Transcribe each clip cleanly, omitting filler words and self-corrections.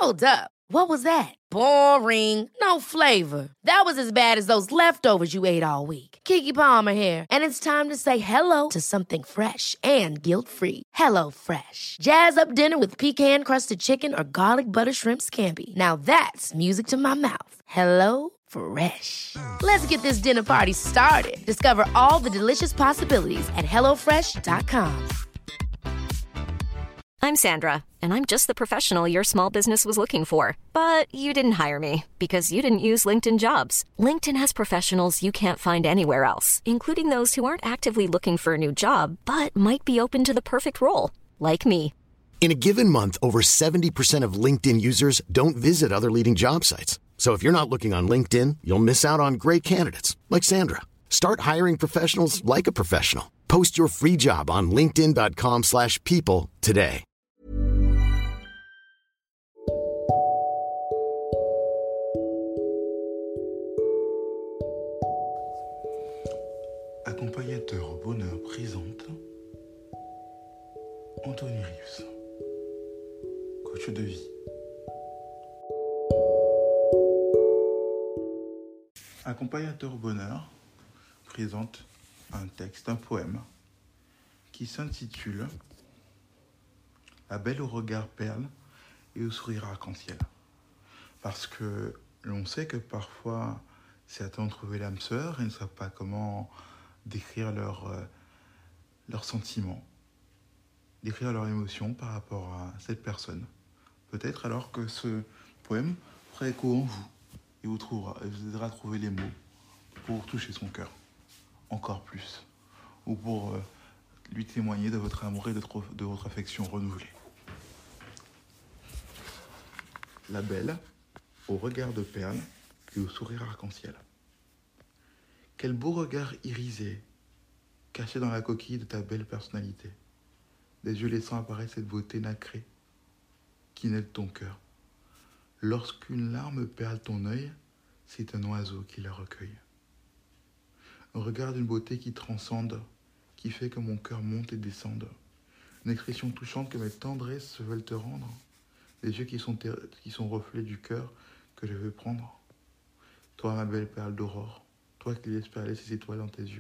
Hold up. What was that? Boring. No flavor. That was as bad as those leftovers you ate all week. Keke Palmer here, and it's time to say hello to something fresh and guilt-free. Hello Fresh. Jazz up dinner with pecan-crusted chicken or garlic butter shrimp scampi. Now that's music to my mouth. Hello Fresh. Let's get this dinner party started. Discover all the delicious possibilities at hellofresh.com. I'm Sandra, and I'm just the professional your small business was looking for. But you didn't hire me because you didn't use LinkedIn Jobs. LinkedIn has professionals you can't find anywhere else, including those who aren't actively looking for a new job, but might be open to the perfect role, like me. In a given month, over 70% of LinkedIn users don't visit other leading job sites. So if you're not looking on LinkedIn, you'll miss out on great candidates like Sandra. Start hiring professionals like a professional. Post your free job on linkedin.com/people today. Accompagnateur Bonheur présente Anthony Reeves, coach de vie. Accompagnateur Bonheur présente un texte, un poème qui s'intitule La belle au regard perle et au sourire arc-en-ciel. Parce que l'on sait que parfois certains ont trouvé l'âme sœur et ne savent pas comment décrire leurs sentiments, décrire leurs émotions par rapport à cette personne. Peut-être alors que ce poème fera écho en vous et vous aidera à trouver les mots pour toucher son cœur encore plus, ou pour lui témoigner de votre amour et de votre affection renouvelée. La belle, au regard de perle et au sourire arc-en-ciel. Quel beau regard irisé, caché dans la coquille de ta belle personnalité, des yeux laissant apparaître cette beauté nacrée qui naît de ton cœur. Lorsqu'une larme perle ton œil, c'est un oiseau qui la recueille. Un regard d'une beauté qui transcende, qui fait que mon cœur monte et descende. Une expression touchante que mes tendresses veulent te rendre. Des yeux qui sont reflets du cœur que je veux prendre. Toi, ma belle perle d'aurore, toi qui laisses perler ces étoiles dans tes yeux.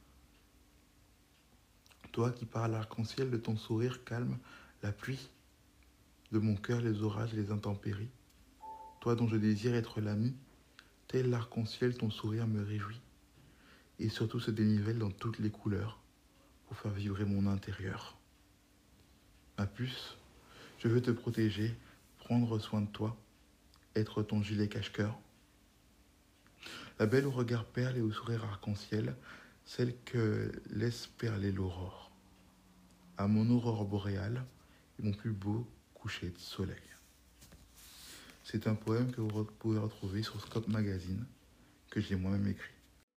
Toi qui par l'arc-en-ciel de ton sourire calme la pluie, de mon cœur les orages et les intempéries. Toi dont je désire être l'ami, tel l'arc-en-ciel ton sourire me réjouit. Et surtout se dénivelle dans toutes les couleurs pour faire vibrer mon intérieur. Ma puce, je veux te protéger, prendre soin de toi, être ton gilet cache-cœur. La belle au regard perle et au sourire arc-en-ciel, celle que laisse perler l'aurore. À mon aurore boréale et mon plus beau coucher de soleil. C'est un poème que vous pouvez retrouver sur Scope Magazine, que j'ai moi-même écrit.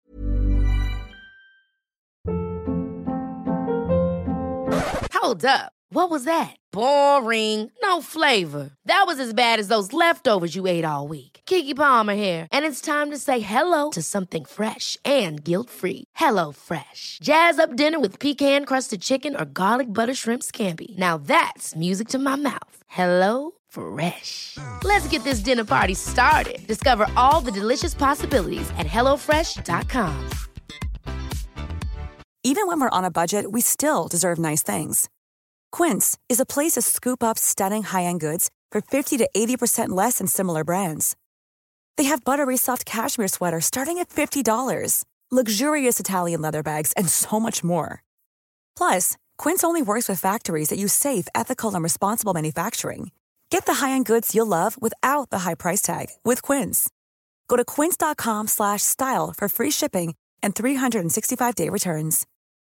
Hold up. What was that? Boring. No flavor. That was as bad as those leftovers you ate all week. Keke Palmer here, and it's time to say hello to something fresh and guilt-free. Hello Fresh. Jazz up dinner with pecan-crusted chicken or garlic butter shrimp scampi. Now that's music to my mouth. Hello Fresh. Let's get this dinner party started. Discover all the delicious possibilities at hellofresh.com. Even when we're on a budget, we still deserve nice things. Quince is a place to scoop up stunning high-end goods for 50 to 80% less than similar brands. They have buttery soft cashmere sweaters starting at $50, luxurious Italian leather bags, and so much more. Plus, Quince only works with factories that use safe, ethical, and responsible manufacturing. Get the high-end goods you'll love without the high price tag with Quince. Go to quince.com/style for free shipping and 365-day returns.